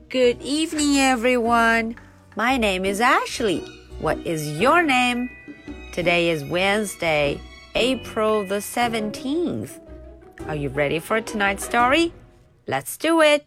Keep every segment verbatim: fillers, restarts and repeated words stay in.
Good evening, everyone. My name is Ashley. What is your name? Today is Wednesday, April the seventeenth. Are you ready for tonight's story? Let's do it.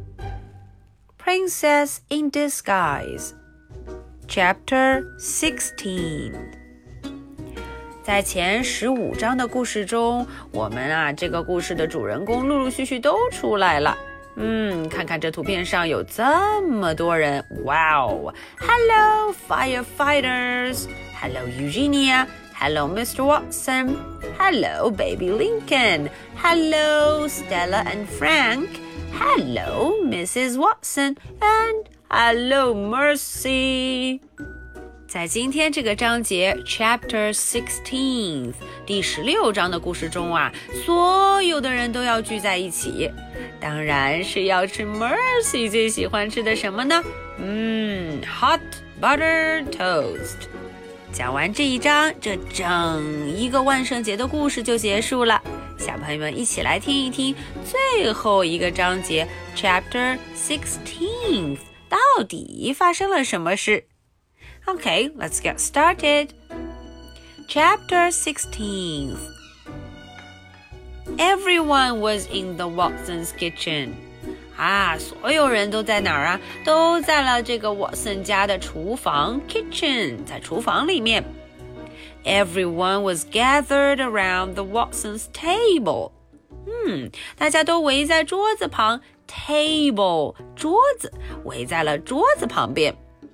Princess in Disguise, Chapter sixteen.在前十五章的故事中，我们啊，这个故事的主人公陆陆续续都出来了。嗯，看看这图片上有这么多人，哇哦 ！Hello, firefighters. Hello, Eugenia. Hello, Mister Watson. Hello, baby Lincoln. Hello, Stella and Frank. Hello, Missus Watson. And hello, Mercy.在今天这个章节 Chapter sixteen 第十六章的故事中啊，所有的人都要聚在一起，当然是要吃 Mercy 最喜欢吃的什么呢？嗯 Hot Butter Toast。 讲完这一章，这整一个万圣节的故事就结束了。小朋友们一起来听一听最后一个章节 Chapter sixteen 到底发生了什么事。Okay, let's get started. Chapter sixteen. Everyone was in the Watson's kitchen. 啊，所有人都在哪儿啊？都在了这个 Watson 家的厨房 kitchen， 在厨房里面。Everyone was gathered around the Watson's table. 嗯，大家都围在桌子旁 table 桌子，围在了桌子旁边。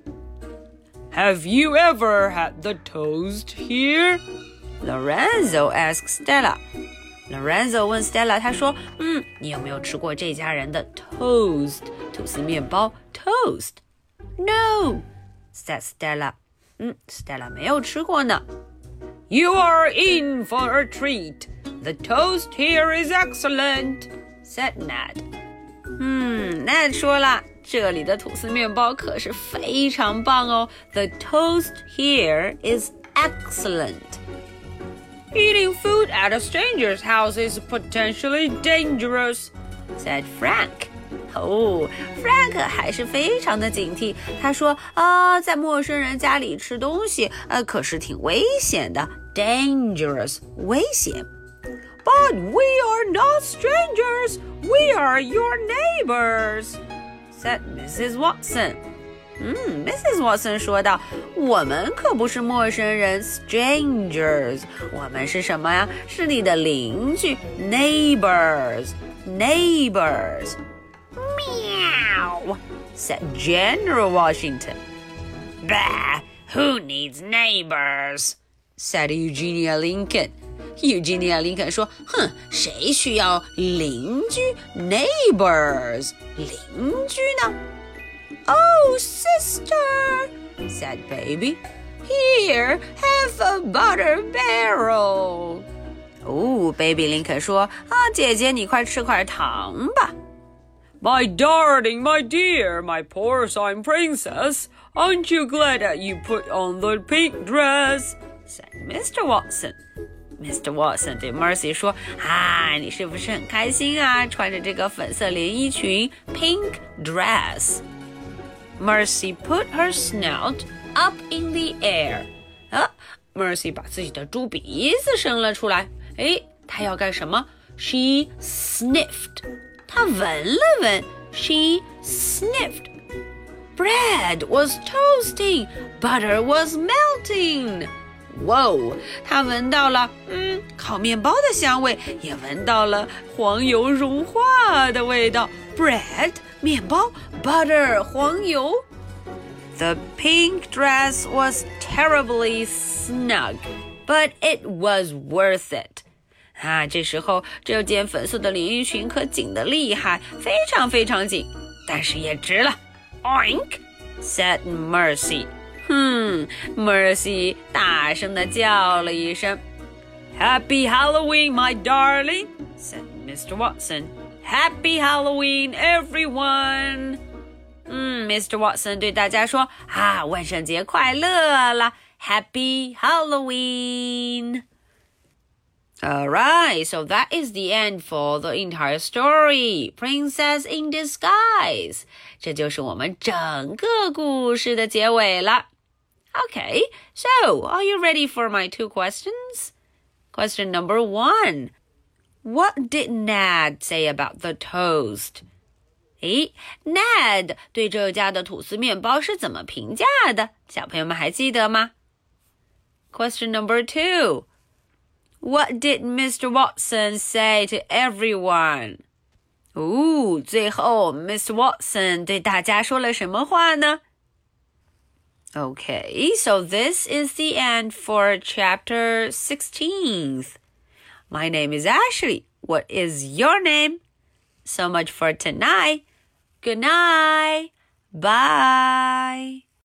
Have you ever had the toast here? Lorenzo asked Stella. Lorenzo 问 Stella， 他说，嗯，你有没有吃过这家人的 toast 吐司面包 toast? No, said Stella. 嗯 Stella 没有吃过呢。 You are in for a treat. The toast here is excellent, said Ned. 嗯 Ned 说了，这里的吐司面包可是非常棒哦。The toast here is excellent. Eating food at a stranger's house is potentially dangerous, said Frank. 哦 Frank 还是非常的警惕。他说啊，在陌生人家里吃东西，呃，可是挺危险的。Dangerous， 危险。 But we are not strangers. We are your neighbors, said Missus Watson. 嗯 Missus Watson 说道，我们可不是陌生人 strangers， 我们是什么呀？是你的邻居 neighbors neighbors. Meow, said General Washington. Bah, who needs neighbors? said Eugenia Lincoln. Eugenia Lincoln 说，哼，谁需要邻居 neighbors 邻居呢？ Oh, sister, said Baby. Here, have a butter barrel. 哦 Baby Lincoln 说，啊，姐姐你快吃块糖吧。 My darling, my dear, my porcine princess, aren't you glad that you put on the pink dress? said Mister Watson.Mister Watson 对 Mercy 说，啊，你是不是很开心啊？穿着这个粉色连衣裙 pink dress. Mercy put her snout up in the air. 啊 Mercy 把自己的猪鼻子伸了出来。诶，她要干什么？ She sniffed. 她闻了闻。She sniffed. Bread was toasting. Butter was melting.哇哦，他闻到了，嗯，烤面包的香味，也闻到了黄油融化的味道。Bread 面包 ，butter 黄油。The pink dress was terribly snug, but it was worth it. 啊，这时候这件粉色的连衣裙可紧得厉害，非常非常紧，但是也值了。Oink, said Mercy.哼 Mercy 大声地叫了一声。 Happy Halloween, my darling, said Mister Watson. Happy Halloween, everyone. 嗯 Mister Watson 对大家说，啊，万圣节快乐啦 Happy Halloween. Alright, so that is the end for the entire story. Princess in Disguise. 这就是我们整个故事的结尾了。Okay, so are you ready for my two questions? Question number one. What did Ned say about the toast? 诶 Ned 对这家的吐司面包是怎么评价的？小朋友们还记得吗？ Question number two.What did Mister Watson say to everyone? 哦，最后 Mister Watson 对大家说了什么话呢？ Okay, so this is the end for chapter sixteen. My name is Ashley. What is your name? So much for tonight. Good night. Bye.